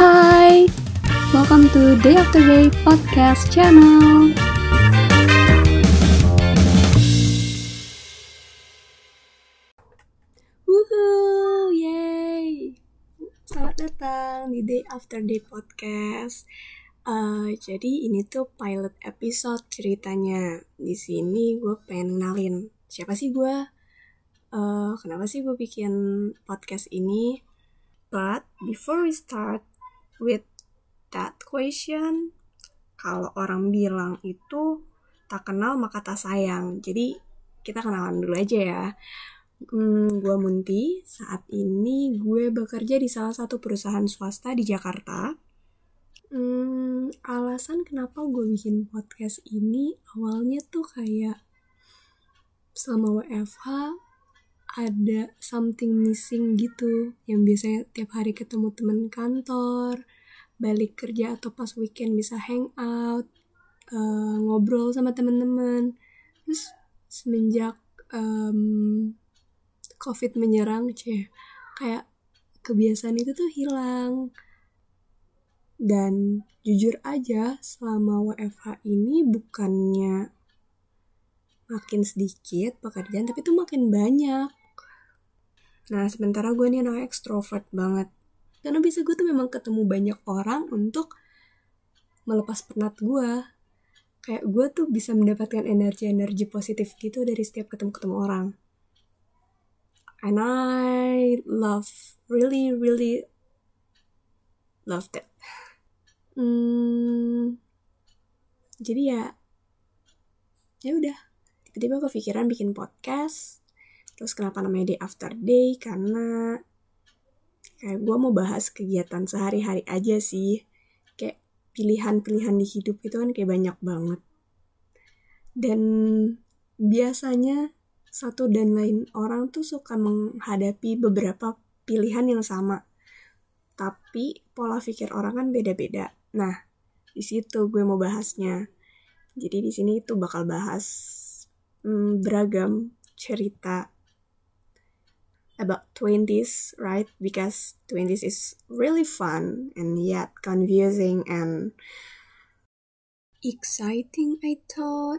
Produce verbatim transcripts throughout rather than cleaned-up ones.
Hai, welcome to Day After Day Podcast Channel. Woohoo, yay! Selamat datang di Day After Day Podcast. Uh, jadi ini tuh pilot episode ceritanya. Di sini gue pengen kenalin siapa sih gue, uh, kenapa sih gue bikin podcast ini. But before we start with that question, kalau orang bilang itu tak kenal maka tak sayang. Jadi kita kenalan dulu aja ya. Hmm, gue Munti. Saat ini gue bekerja di salah satu perusahaan swasta di Jakarta. Hmm, alasan kenapa gue bikin podcast ini awalnya tuh kayak selama W F H ada something missing gitu, yang biasanya tiap hari ketemu temen kantor, balik kerja atau pas weekend bisa hangout, uh, ngobrol sama temen-temen. Terus semenjak um, COVID menyerang, cie, kayak kebiasaan itu tuh hilang. Dan jujur aja selama W F H ini bukannya makin sedikit pekerjaan, tapi tuh makin banyak. Nah, sementara gue nih anak ekstrovert banget. Karena bisa gue tuh memang ketemu banyak orang untuk melepas penat gue. Kayak gue tuh bisa mendapatkan energi-energi positif gitu dari setiap ketemu-ketemu orang. And I love, really, really love that. Hmm, jadi ya, ya udah. Tiba-tiba kepikiran bikin podcast. Terus kenapa namanya Day After Day? Karena kayak gue mau bahas kegiatan sehari-hari aja sih. Kayak pilihan-pilihan di hidup itu kan kayak banyak banget. Dan biasanya satu dan lain orang tuh suka menghadapi beberapa pilihan yang sama. Tapi pola pikir orang kan beda-beda. Nah, di situ gue mau bahasnya. Jadi di sini tuh bakal bahas hmm, beragam cerita about twenties, right? Because twenties is really fun and yet confusing and exciting, I thought.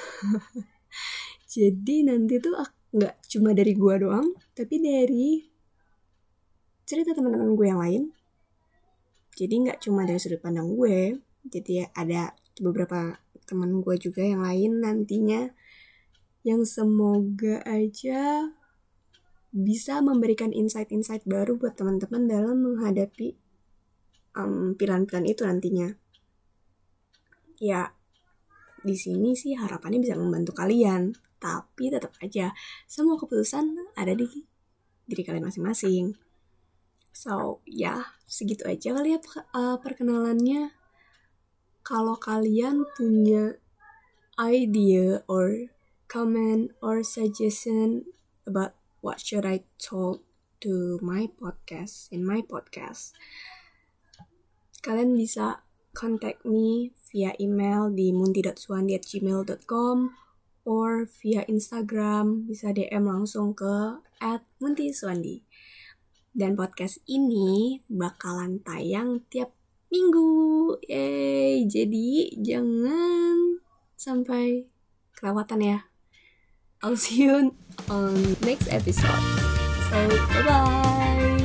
Jadi nanti tuh nggak cuma dari gue doang, tapi dari cerita teman-teman gue yang lain. Jadi nggak cuma dari sudut pandang gue, jadi ada beberapa teman gue juga yang lain nantinya, yang semoga aja bisa memberikan insight-insight baru buat teman-teman dalam menghadapi um, pilihan-pilihan itu nantinya. Ya, di sini sih harapannya bisa membantu kalian, tapi tetap aja semua keputusan ada di diri kalian masing-masing. So, ya, segitu aja kali ya uh, perkenalannya. Kalau kalian punya idea or comment or suggestion about what should I talk to my podcast, in my podcast, kalian bisa contact me via email di munti dot suwandi at gmail dot com or via Instagram, bisa D M langsung ke at munti suwandi. Dan podcast ini bakalan tayang tiap minggu. Yeay, jadi jangan sampai kelewatan ya. I'll see you on next episode. So, bye-bye.